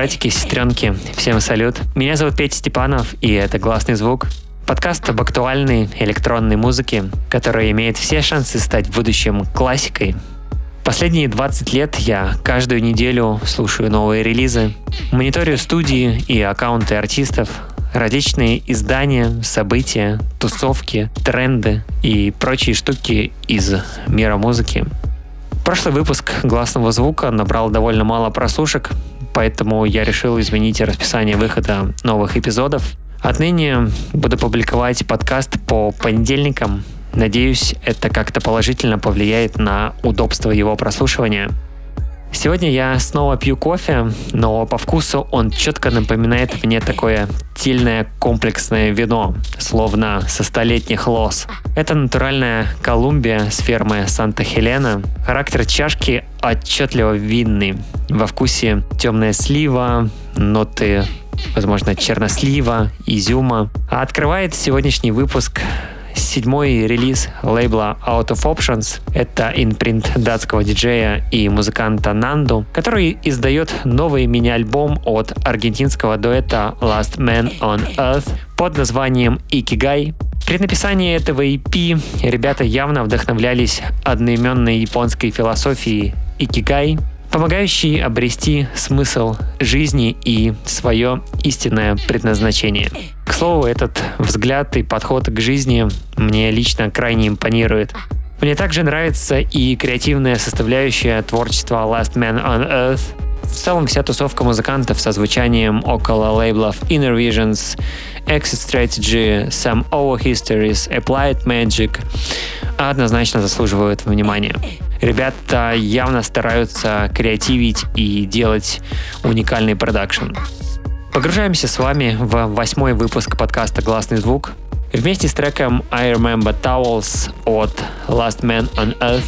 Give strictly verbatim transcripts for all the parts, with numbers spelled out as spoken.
братики, сестренки, всем салют. Меня зовут Петя Степанов, и это «Гласный звук». Подкаст об актуальной электронной музыке, которая имеет все шансы стать в будущем классикой. Последние двадцать лет я каждую неделю слушаю новые релизы, мониторю студии и аккаунты артистов, различные издания, события, тусовки, тренды и прочие штуки из мира музыки. Прошлый выпуск «Гласного звука» набрал довольно мало прослушек, поэтому я решил изменить расписание выхода новых эпизодов. Отныне буду публиковать подкаст по понедельникам. Надеюсь, это как-то положительно повлияет на удобство его прослушивания. Сегодня я снова пью кофе, но по вкусу он четко напоминает мне такое тильное комплексное вино, словно со столетних лоз. Это натуральная Колумбия с фермы Санта-Хелена. Характер чашки отчетливо винный. Во вкусе темная слива, ноты, возможно, чернослива, изюма. А открывает сегодняшний выпуск седьмой релиз лейбла Out of Options. Это импринт датского диджея и музыканта Нанду, который издает новый мини-альбом от аргентинского дуэта Last Man on Earth под названием Икигай. При написании этого и пи ребята явно вдохновлялись одноименной японской философией Икигай, помогающей обрести смысл жизни и свое истинное предназначение. К слову, этот взгляд и подход к жизни мне лично крайне импонирует. Мне также нравится и креативная составляющая творчества Last Man on Earth. В целом вся тусовка музыкантов со звучанием около лейблов Inner Visions, Exit Strategy, Some Our Histories, Applied Magic однозначно заслуживают внимания. Ребята явно стараются креативить и делать уникальный продакшн. Погружаемся с вами в восьмой выпуск подкаста «Гласный звук» вместе с треком I Remember Towels от Last Man on Earth.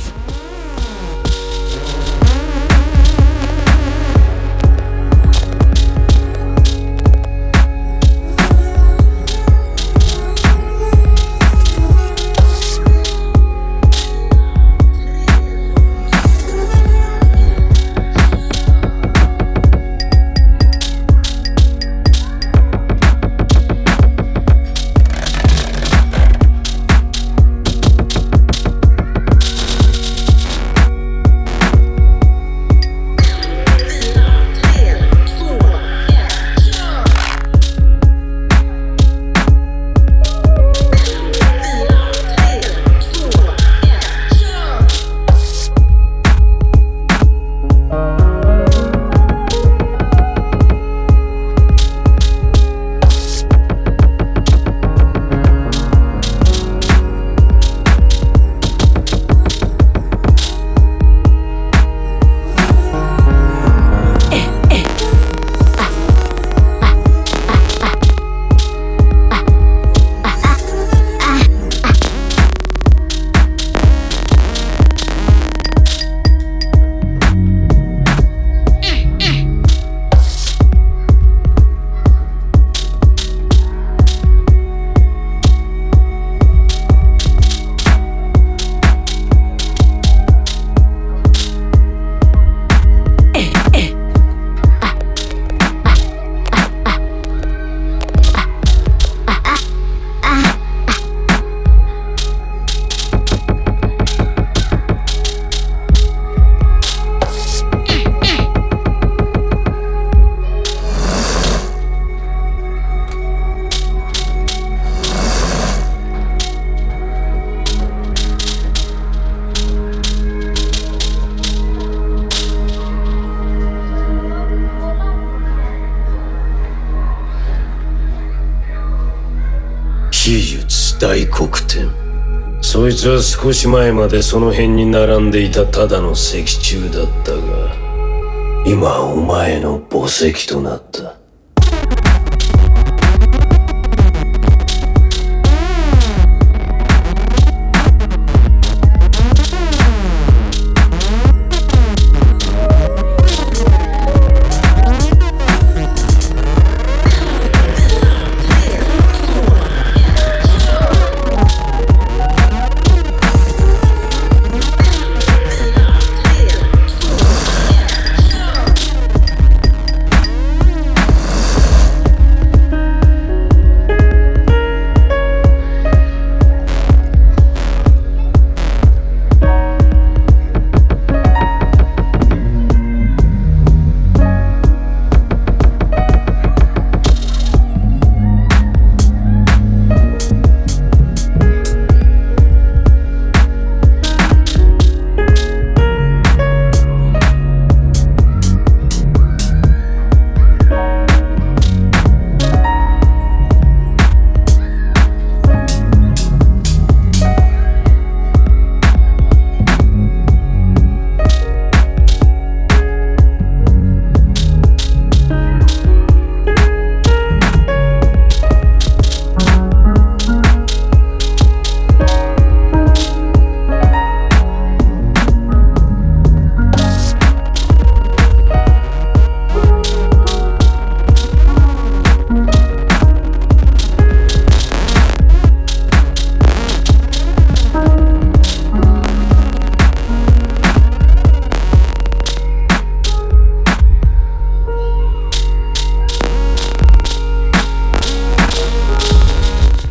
大黒天。そいつは少し前までその辺に並んでいたただの石柱だったが、今はお前の墓石となった。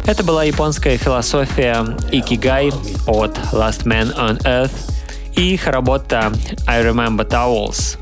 Это была японская философия Икигай от Last Man on Earth и их работа I Remember Towels.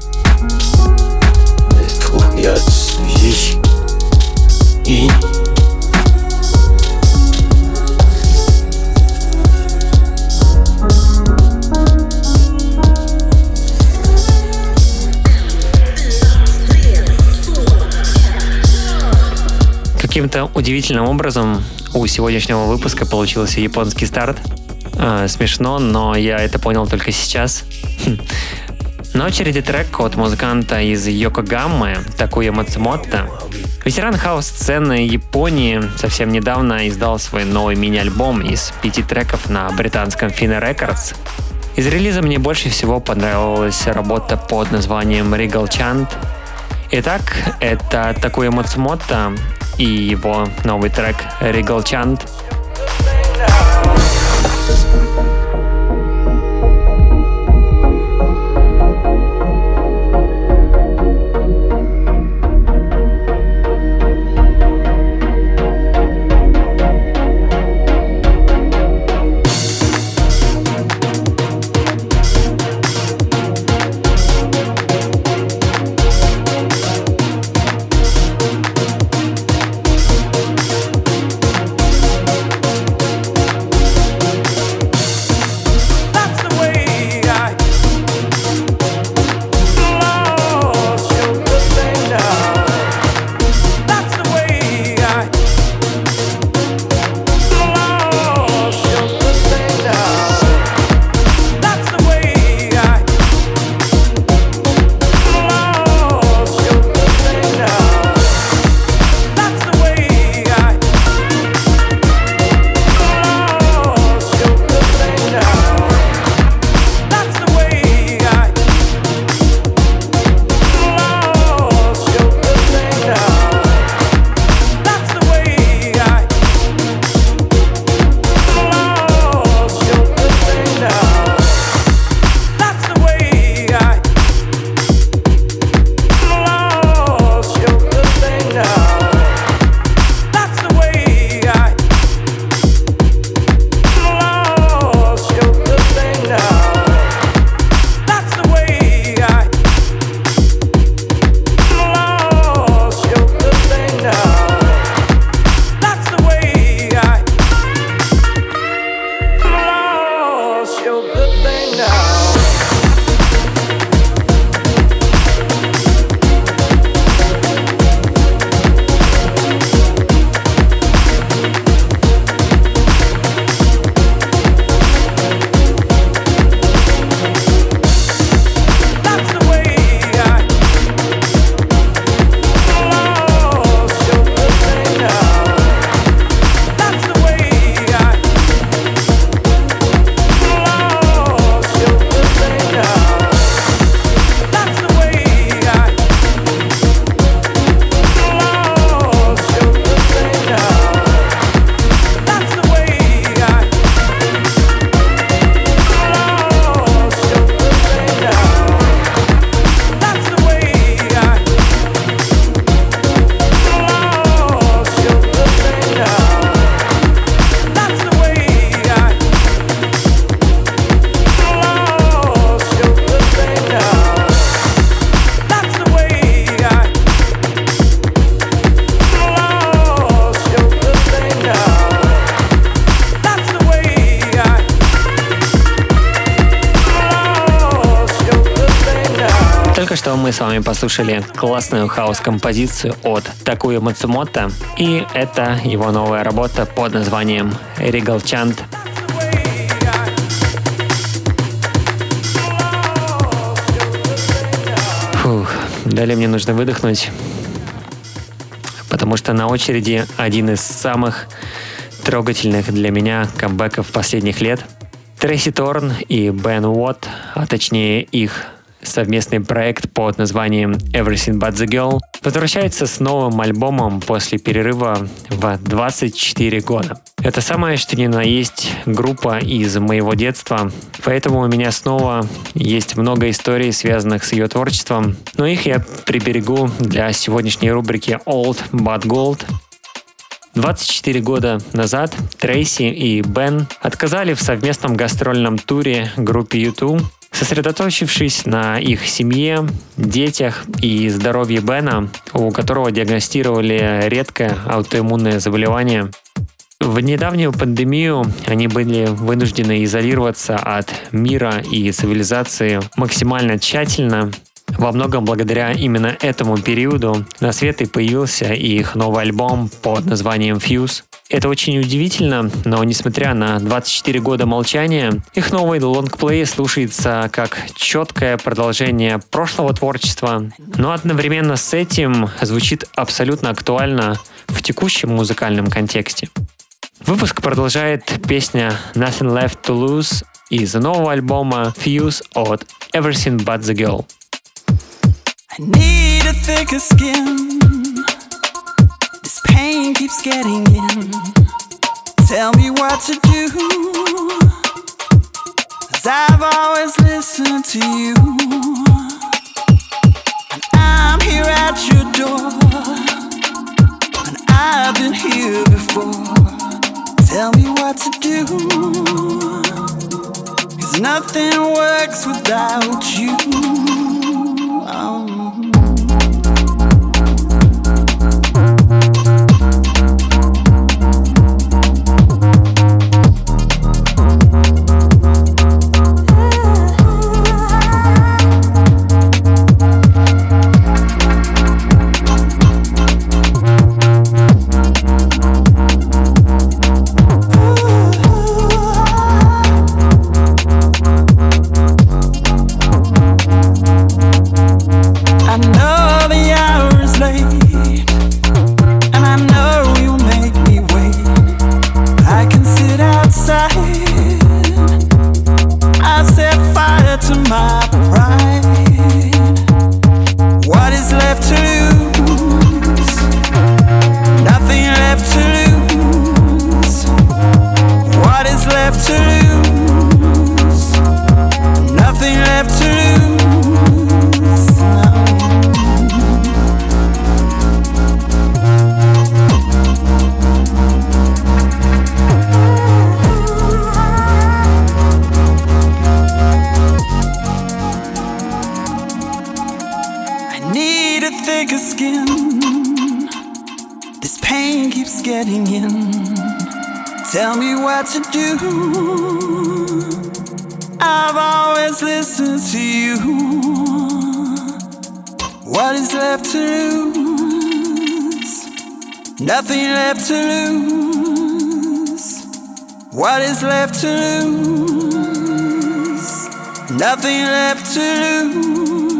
Каким-то удивительным образом у сегодняшнего выпуска получился японский старт. Э, смешно, но я это понял только сейчас. На очереди трек от музыканта из Йокогаммы Такуя Мацумото. Ветеран хаус-сцены Японии совсем недавно издал свой новый мини-альбом из пяти треков на британском Fine Records. Из релиза мне больше всего понравилась работа под названием Regal Chant. Итак, это Такуя Мацумото и его новый трек Regal Chant. Что мы с вами послушали классную хаос-композицию от Такуя Мацумото, и это его новая работа под названием Regal Chant. Фух, далее мне нужно выдохнуть, потому что на очереди один из самых трогательных для меня камбэков последних лет. Трейси Торн и Бен Уотт, а точнее их совместный проект под названием Everything But The Girl, возвращается с новым альбомом после перерыва в двадцать четыре года. Это самое что ни на есть группа из моего детства, поэтому у меня снова есть много историй, связанных с ее творчеством, но их я приберегу для сегодняшней рубрики Old But Gold. двадцать четыре года назад Трейси и Бен отказали в совместном гастрольном туре группе ю ту, сосредоточившись на их семье, детях и здоровье Бена, у которого диагностировали редкое аутоиммунное заболевание. В недавнюю пандемию они были вынуждены изолироваться от мира и цивилизации максимально тщательно. Во многом благодаря именно этому периоду на свет и появился их новый альбом под названием Fuse. Это очень удивительно, но несмотря на двадцать четыре года молчания, их новый лонгплей слушается как четкое продолжение прошлого творчества, но одновременно с этим звучит абсолютно актуально в текущем музыкальном контексте. Выпуск продолжает песня Nothing Left to Lose из нового альбома Fuse от Everything But The Girl. I need a thicker skin. This pain keeps getting in. Tell me what to do, 'cause I've always listened to you. And I'm here at your door, and I've been here before. Tell me what to do, 'cause nothing works without you. Oh. Tell me what to do. I've always listened to you. What is left to lose? Nothing left to lose. What is left to lose? Nothing left to lose.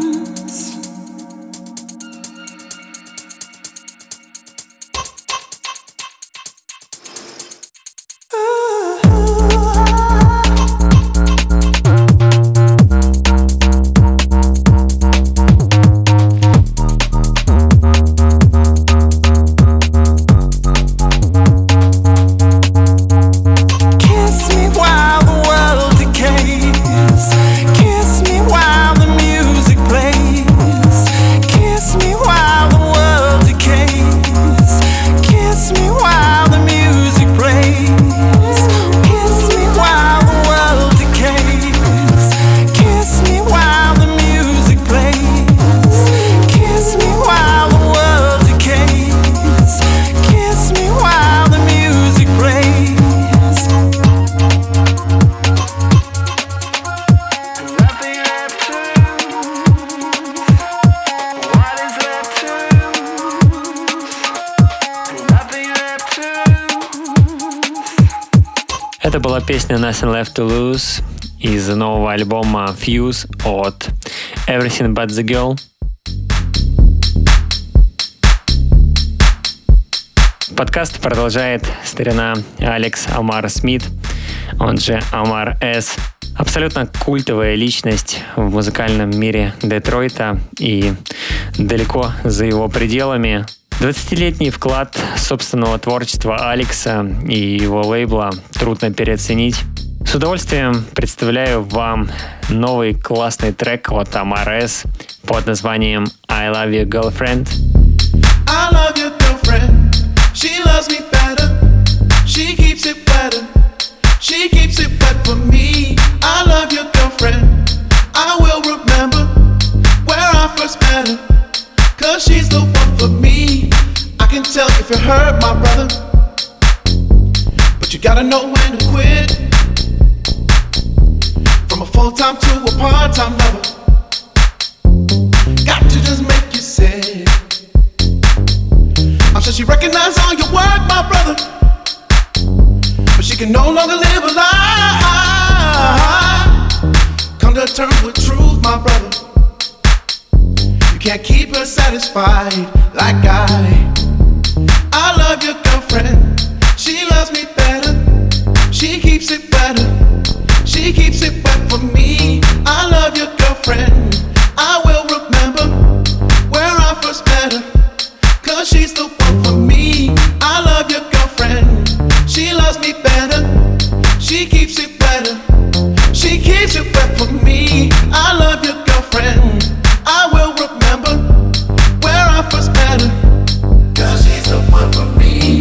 Это была песня Nothing Left to Lose из нового альбома Fuse от Everything But The Girl. Подкаст продолжает старина Алекс Амар Смит, он же Амар С. Абсолютно культовая личность в музыкальном мире Детройта и далеко за его пределами. двадцатилетний вклад собственного творчества Алекса и его лейбла трудно переоценить. С удовольствием представляю вам новый классный трек от Амар С под названием I Love You Girlfriend. I love your girlfriend. She loves me better. Cause she's the one for me. I can tell if you hurt my brother, but you gotta know when to quit. From a full-time to a part-time lover, got to just make you sick. I'm sure she recognizes all your work, my brother, but she can no longer live a lie. Come to terms with truth, my brother. You can't keep her satisfied like I. I love your girlfriend. She loves me better. She keeps it better. She keeps it wet for me. I love your girlfriend. I will remember where I first met her. Cause she's the one for me. I love your girlfriend. She loves me better. She keeps it better. She keeps it wet for me. I love your girlfriend. I will remember where I first met her. Cause she's the one for me.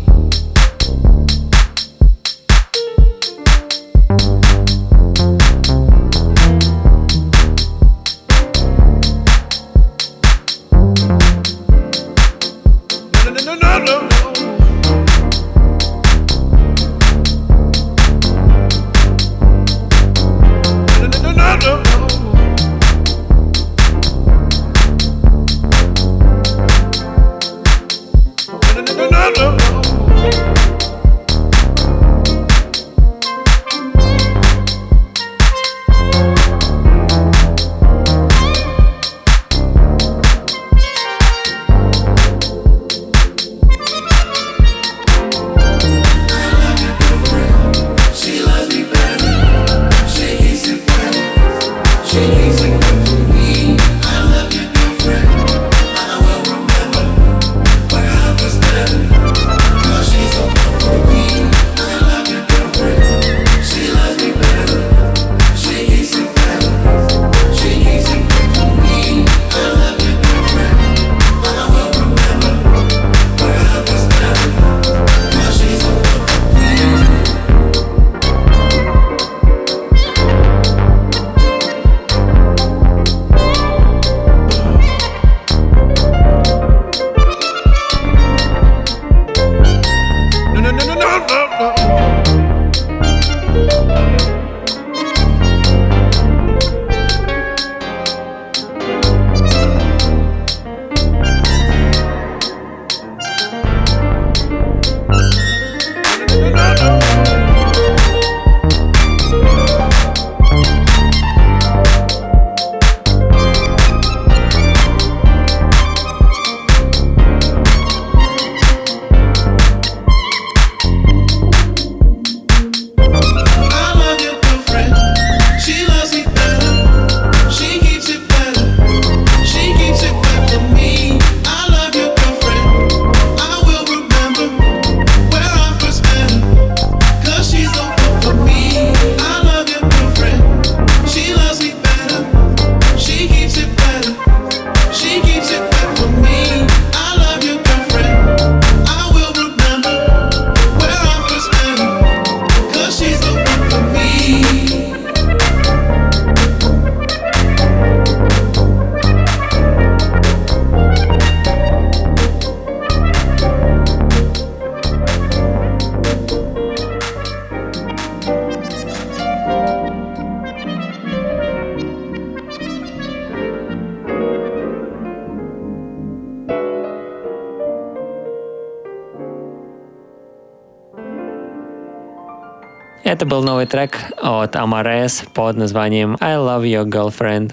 No, no, no, no, no, no. No, no, no, no, no. Это был новый трек от Amares под названием I Love Your Girlfriend.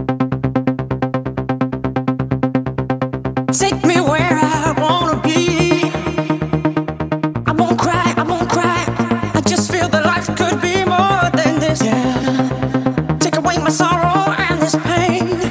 Take me where I wanna be. I won't cry, I won't cry. I just feel that life could be more than this. Yeah. Take away my sorrow and this pain.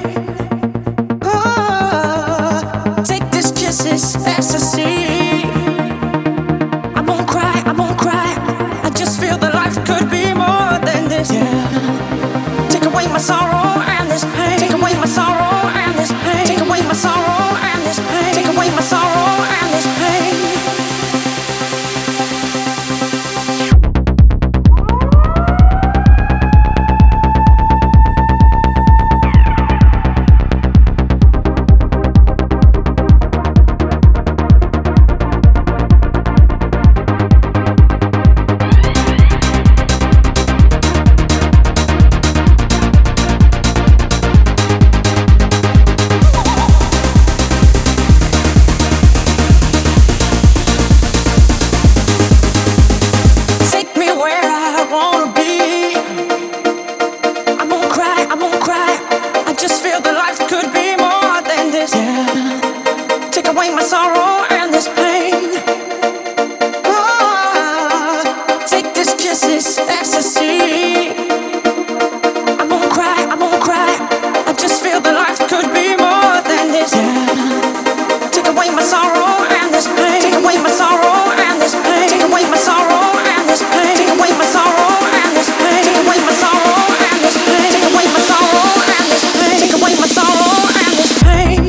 Oh, take this kiss, this ecstasy. I won't cry, I won't cry. I just feel that life could be more than this. Yeah. Take away my sorrow and this pain. Take away my sorrow and this pain. Take away my sorrow and this pain. Take away my sorrow and this pain. away my sorrow and this pain. Oh, take this kiss, this ecstasy. I won't cry, I won't cry. I just feel that life could be more than this. Yeah. Take away my sorrow and this pain. Take away my sorrow and this pain. Take away my sorrow and this pain. Take away my sorrow and this pain. Take away my sorrow and this pain. Take away my sorrow and this pain. Take away my sorrow and this pain.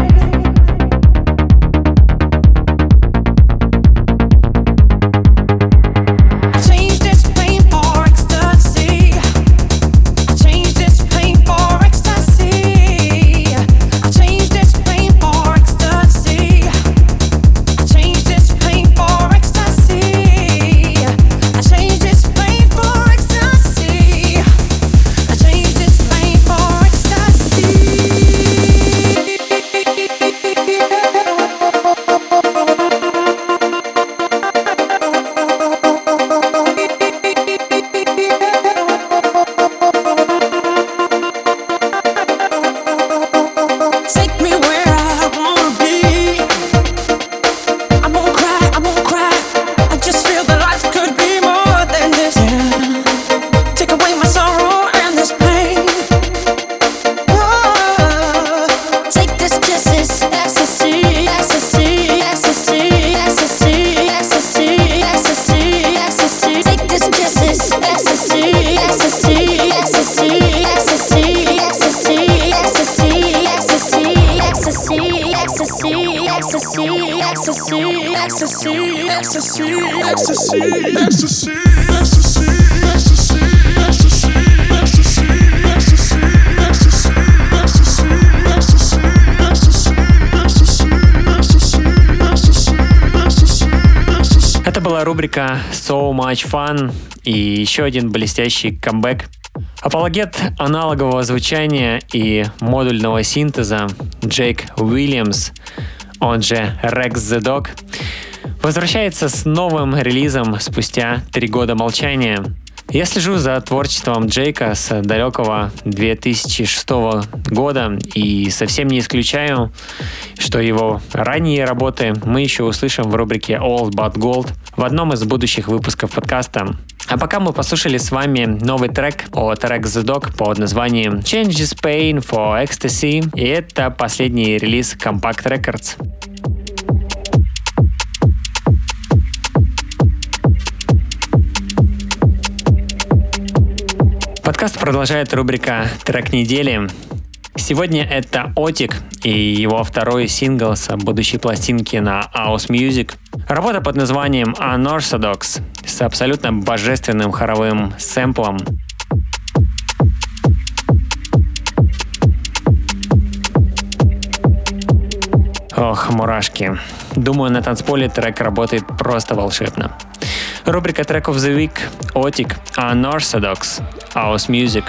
Это была рубрика So Much Fun и еще один блестящий камбэк. Апологет аналогового звучания и модульного синтеза Джейк Уильямс, он же Rex the Dog, возвращается с новым релизом спустя три года молчания. Я слежу за творчеством Джейка с далекого две тысячи шестого года и совсем не исключаю, что его ранние работы мы еще услышим в рубрике Old But Gold в одном из будущих выпусков подкаста. А пока мы послушали с вами новый трек от Rex the Dog под названием Changes Pain for Ecstasy, и это последний релиз Compact Records. Подкаст продолжает рубрика «Трек недели». Сегодня это Отик и его второй сингл с будущей пластинки на House Music. Работа под названием Unorthodox с абсолютно божественным хоровым сэмплом. Ох, мурашки. Думаю, на танцполе трек работает просто волшебно. Рубрика Track of the Week, Отик, Unorthodox, House Music.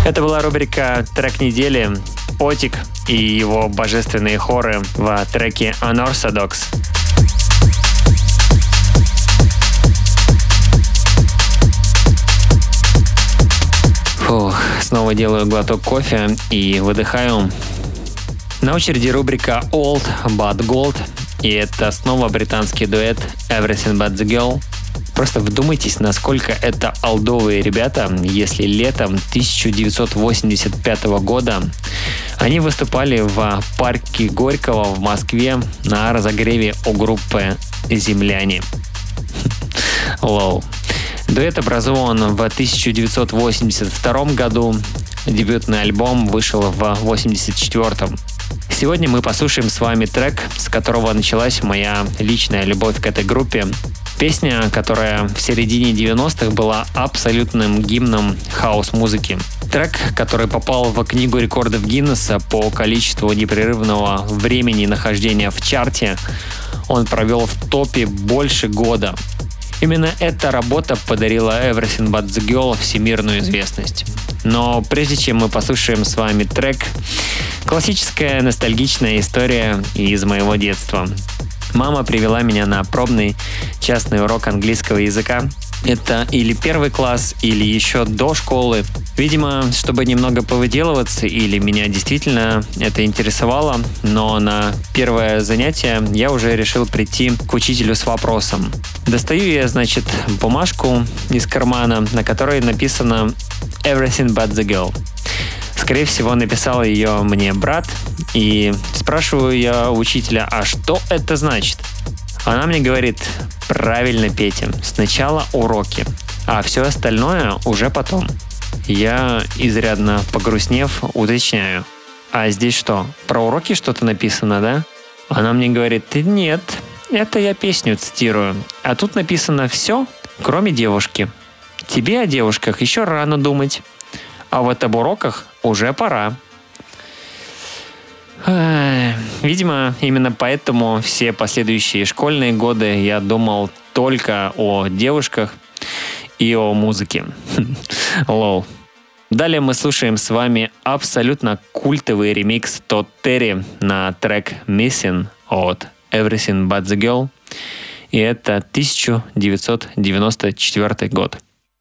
Это была рубрика «Трек недели», Отик и его божественные хоры в треке Unorthodox. Фух, снова делаю глоток кофе и выдыхаю. На очереди рубрика Old But Gold, и это снова британский дуэт Everything But The Girl. Просто вдумайтесь, насколько это олдовые ребята, если летом тысяча девятьсот восемьдесят пятого года они выступали в парке Горького в Москве на разогреве у группы «Земляне». Лол. Дуэт образован в тысяча девятьсот восемьдесят втором году. Дебютный альбом вышел в восемьдесят четвёртом. Сегодня мы послушаем с вами трек, с которого началась моя личная любовь к этой группе. Песня, которая в середине девяностых была абсолютным гимном хаос-музыки. Трек, который попал в книгу рекордов Гиннесса по количеству непрерывного времени нахождения в чарте. Он провел в топе больше года. Именно эта работа подарила Everything But The Girl всемирную известность. Но прежде чем мы послушаем с вами трек, классическая ностальгичная история из моего детства. Мама привела меня на пробный частный урок английского языка. Это или первый класс, или еще до школы. Видимо, чтобы немного повыделываться, или меня действительно это интересовало, но на первое занятие я уже решил прийти к учителю с вопросом. Достаю я, значит, бумажку из кармана, на которой написано «Everything But The Girl». Скорее всего, написал ее мне брат, и спрашиваю я у учителя, а что это значит? Она мне говорит: правильно, Петя, сначала уроки, а все остальное уже потом. Я, изрядно погрустнев, уточняю: а здесь что, про уроки что-то написано, да? Она мне говорит: нет, это я песню цитирую, а тут написано все, кроме девушки. Тебе о девушках еще рано думать. А вот об уроках уже пора. Видимо, именно поэтому все последующие школьные годы я думал только о девушках и о музыке. Лол. Далее мы слушаем с вами абсолютно культовый ремикс Тодд Терри на трек Missing от Everything But The Girl. И это тысяча девятьсот девяносто четвёртый год.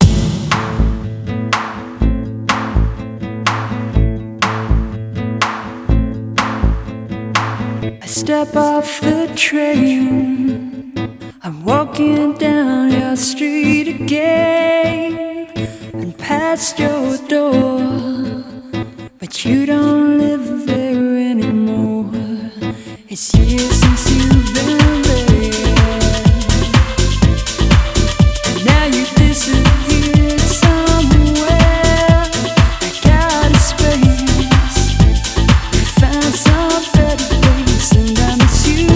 I step off the train, I'm walking down your street again and past your door, but you don't live there anymore. It's years since you've been there, and now you disappeared somewhere. I got a space, found some better place, and I miss you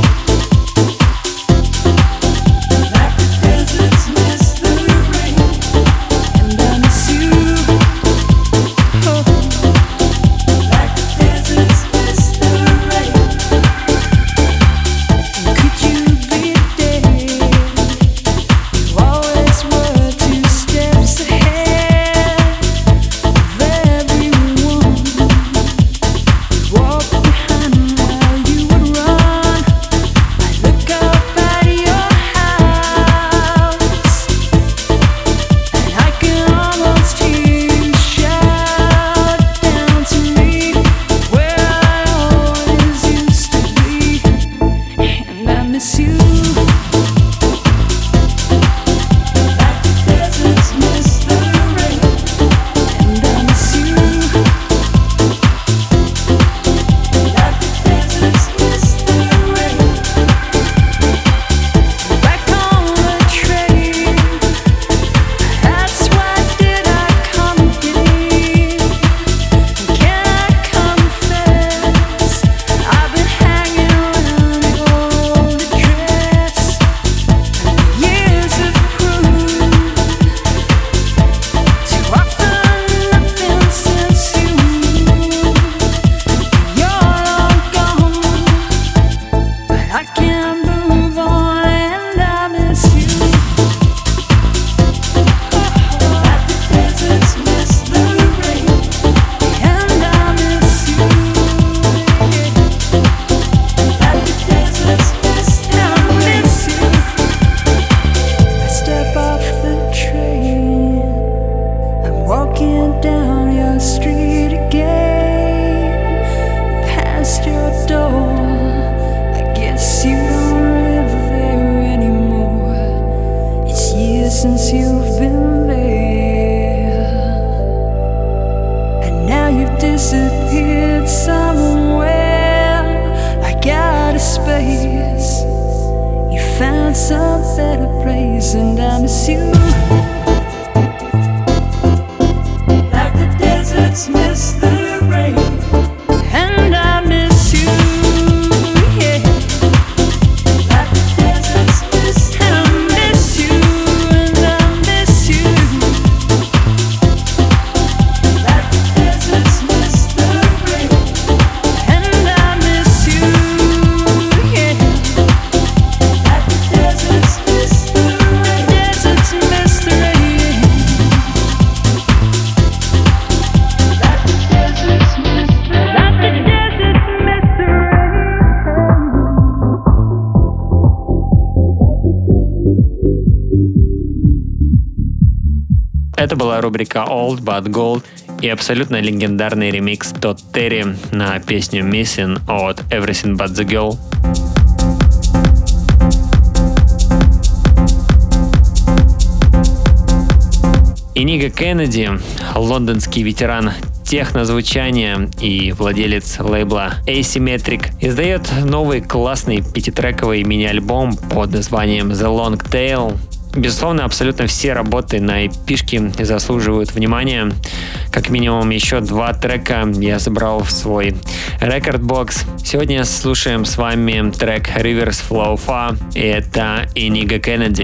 like the deserts miss the rain, and I miss you, oh, like the deserts miss the rain. Это была рубрика Old But Gold и абсолютно легендарный ремикс Todd Terry на песню Missing от Everything But The Girl. Иниго Кеннеди, лондонский ветеран технозвучания и владелец лейбла Asymmetric, издает новый классный пятитрековый мини-альбом под названием The Long Tail. Безусловно, абсолютно все работы на эпишке заслуживают внимания. Как минимум еще два трека я забрал в свой рекорд-бокс. Сегодня слушаем с вами трек Rivers Flow Far, и это Иниго Кеннеди.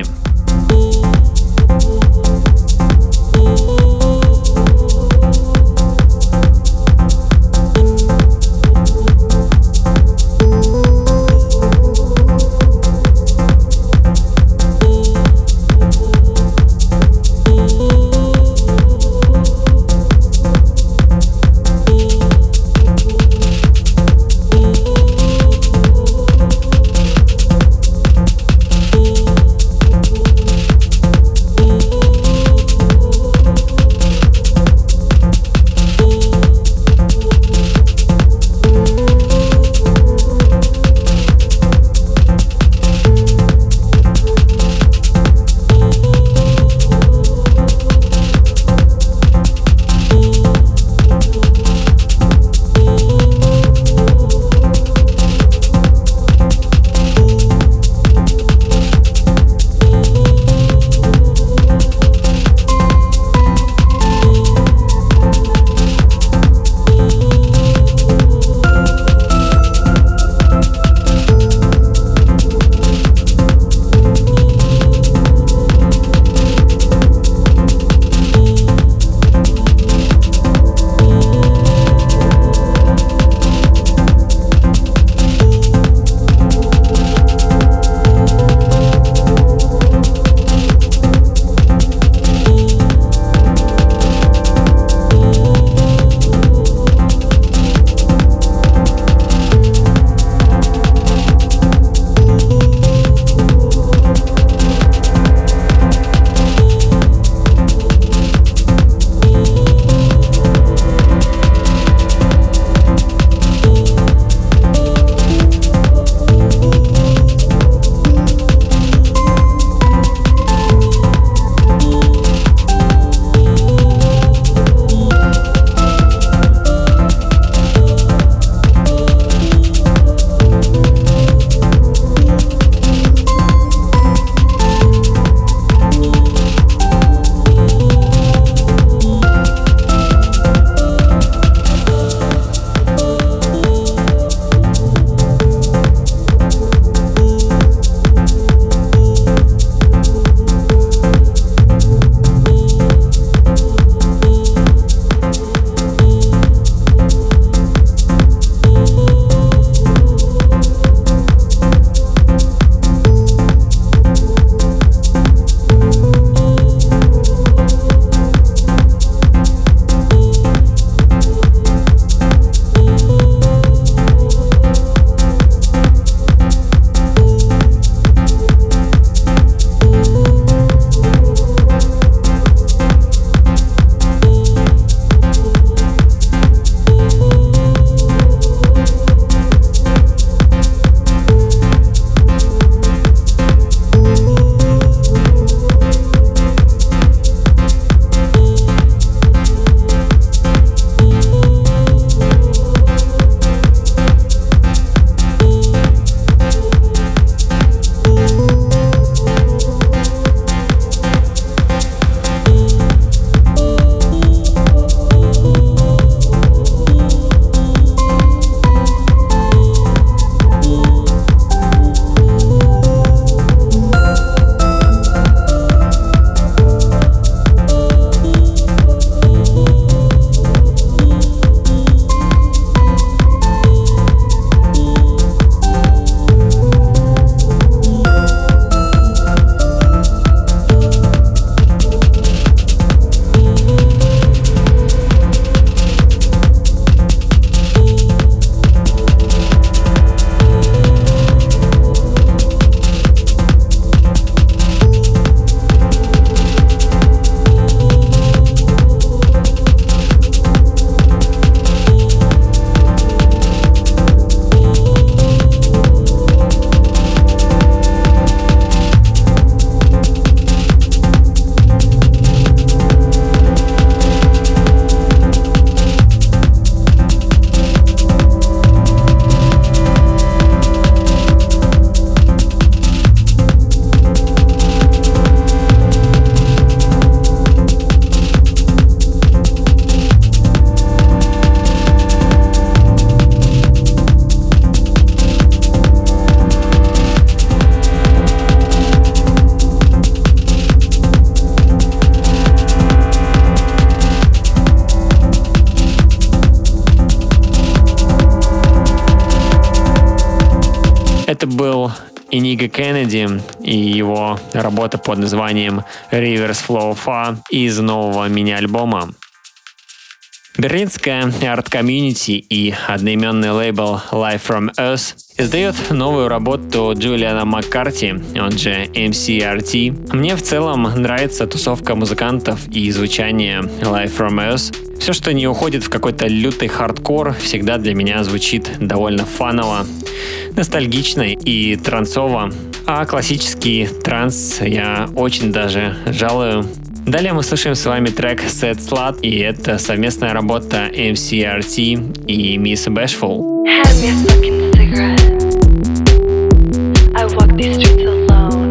Это был Иниго Кеннеди и его работа под названием Rivers Flow Far из нового мини-альбома. Берлинская арт-комьюнити и одноименный лейбл Live from Earth издает новую работу Джулиана Маккарти, он же эм си ар ти. Мне в целом нравится тусовка музыкантов и звучание Live from Earth. Все, что не уходит в какой-то лютый хардкор, всегда для меня звучит довольно фаново, ностальгично и трансово. А классический транс я очень даже жалую. Далее мы слушаем с вами трек Sad Slut, и это совместная работа эм си ар ти и Miss Bashful. Hand me a fucking cigarette. I walk these streets alone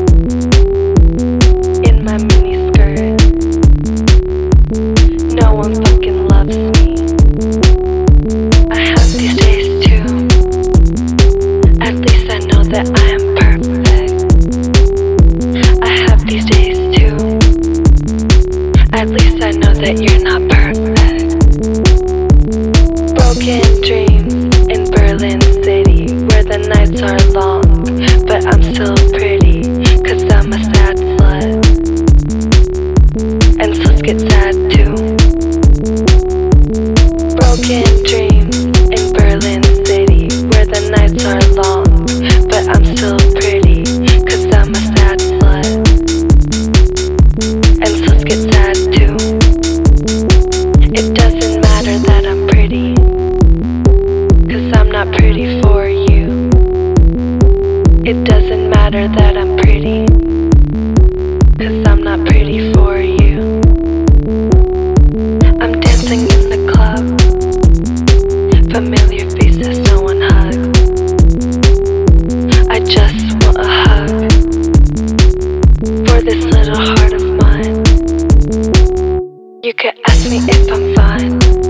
in my mini skirt. No one fucking loves me. I have these days too. At least I know that I am perfect. I have these days too. At least I know that you're not perfect. Broken dreams in Berlin City, where the nights are long, but I'm still pretty, cause I'm a sad slut. And sluts get sad too. Broken dreams in Berlin City, where the nights are long, but I'm still pretty, cause I'm a sad slut. And sluts get sad too. It doesn't matter that I'm pretty, cause I'm not pretty for you. It doesn't matter that I'm pretty, cause I'm not pretty for you. I'm dancing in the club, familiar faces, no one hugs. I just want a hug for this little heart of mine. You could ask me if I'm fine,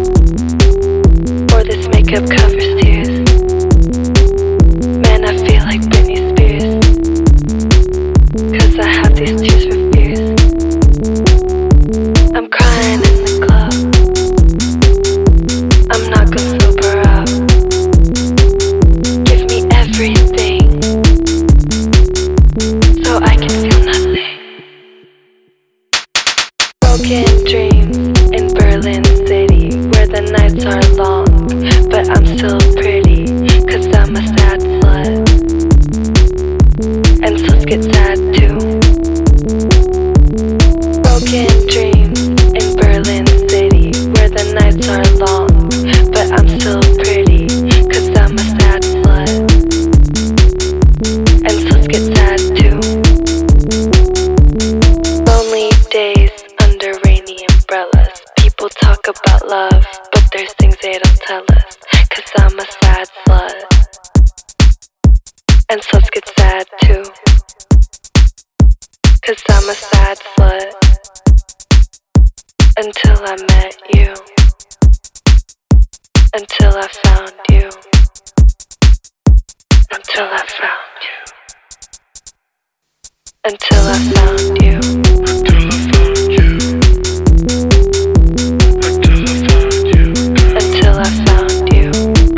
or this makeup covers tears. Man, I feel like Britney Spears, cause I have these tears for fears. I'm crying in the club, I'm not gonna sober up. Give me everything, so I can feel nothing. Broken dreams in Berlin City, where the nights are long, but I'm still pretty, cause I'm a sad slut. And sluts get sad too. Broken dreams in Berlin City, where the nights are long, but I'm still pretty, cause I'm a sad slut. And sluts get sad too. Lonely days under rainy umbrellas. People talk about love, but there's things they don't tell us, cause I'm a sad slut. And sluts get sad too, cause I'm a sad slut. Until I met you, until I found you, until I found you, until I found you, until I found you, until I found you,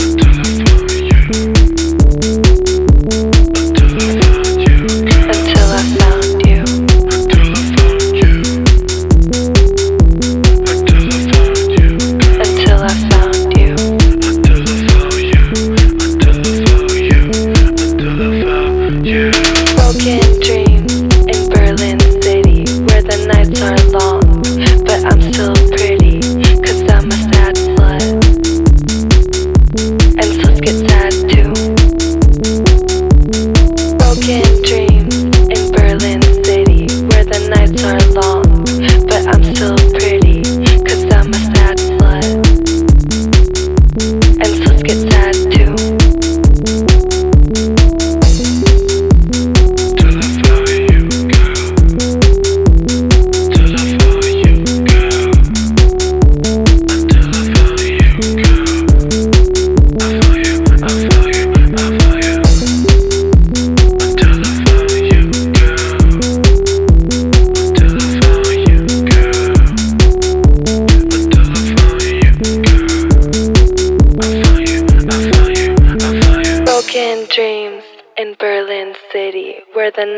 until I found you, until I found you. Broken dreams in Berlin City, where the nights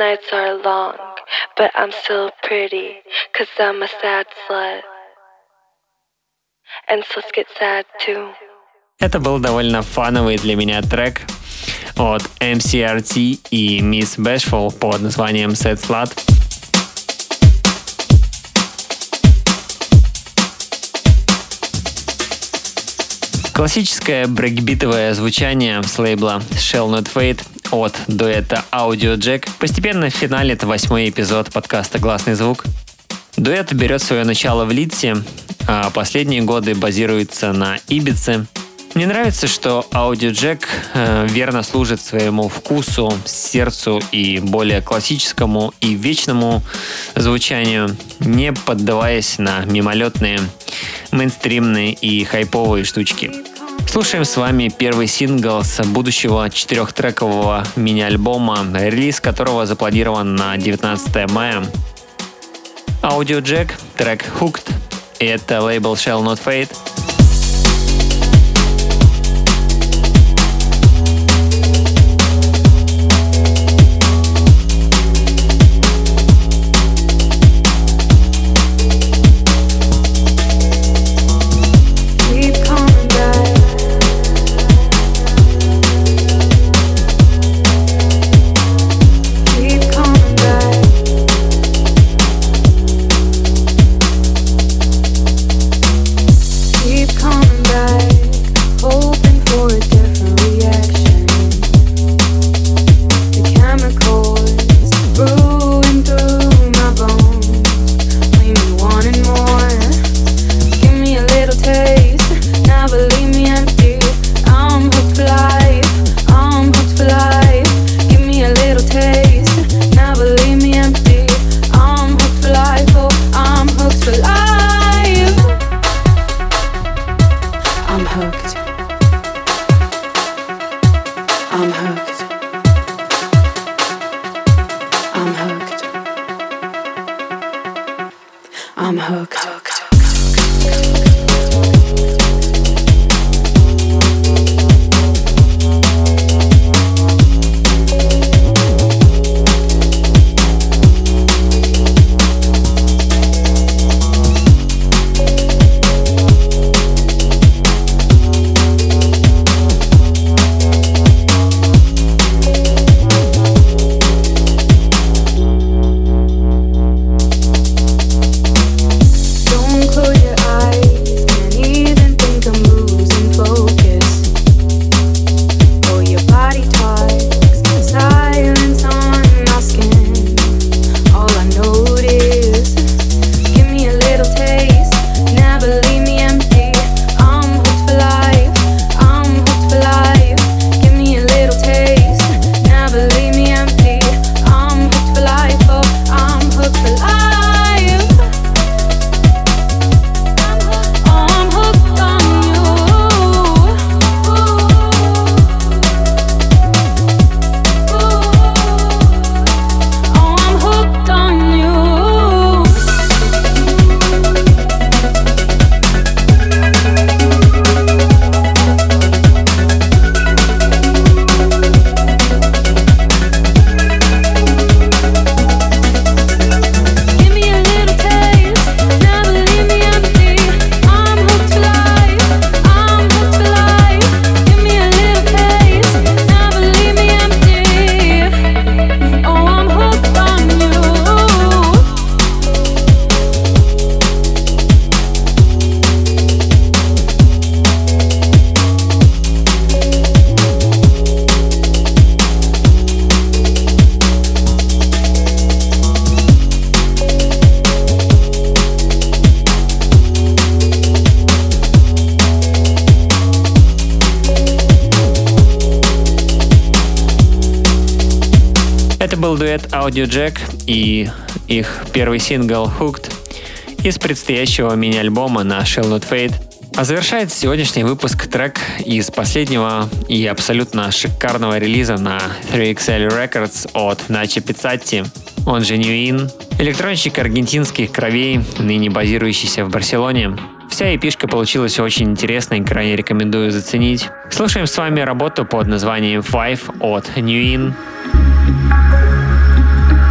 nights are long, but I'm still pretty, cause I'm a sad slut. And sluts get sad too. Это был довольно фановый для меня трек от эм си ар ти и Miss Bashful под названием Sad Slut. Классическое брейкбитовое звучание с лейбла Shall Not Fade от дуэта Audio Jack постепенно финалит восьмой эпизод подкаста «Гласный звук». Дуэт берет свое начало в Лидсе, а последние годы базируется на Ибице. Мне нравится, что Audio Jack э, верно служит своему вкусу, сердцу и более классическому и вечному звучанию, не поддаваясь на мимолетные, мейнстримные и хайповые штучки. Слушаем с вами первый сингл с будущего четырехтрекового мини-альбома, релиз которого запланирован на девятнадцатое мая. Audio Jack, трек Hooked, и это лейбл Shall Not Fade. Это был дуэт Audio Jack и их первый сингл Hooked из предстоящего мини-альбома на Shall Not Fade. А завершает сегодняшний выпуск трек из последнего и абсолютно шикарного релиза на три икс эл Records от Начо Пиццатти, он же New In, электронщик аргентинских кровей, ныне базирующийся в Барселоне. Вся эпишка получилась очень интересной, крайне рекомендую заценить. Слушаем с вами работу под названием Five от New In.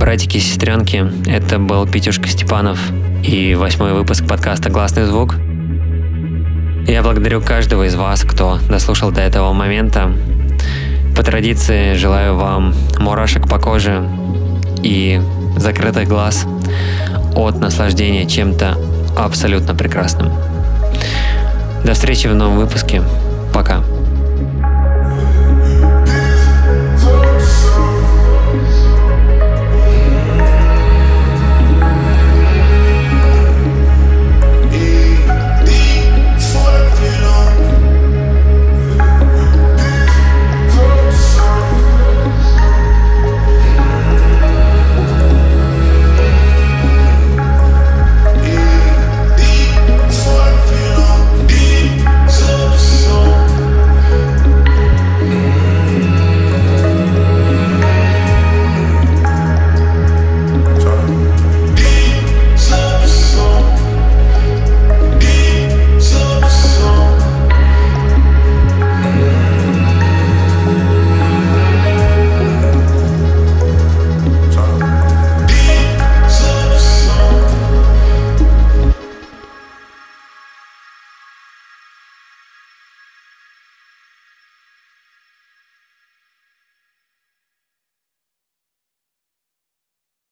братики и сестренки, это был Петюшка Степанов и восьмой выпуск подкаста «Классный звук». Я благодарю каждого из вас, кто дослушал до этого момента. По традиции желаю вам мурашек по коже и закрытых глаз от наслаждения чем-то абсолютно прекрасным. До встречи в новом выпуске. Пока.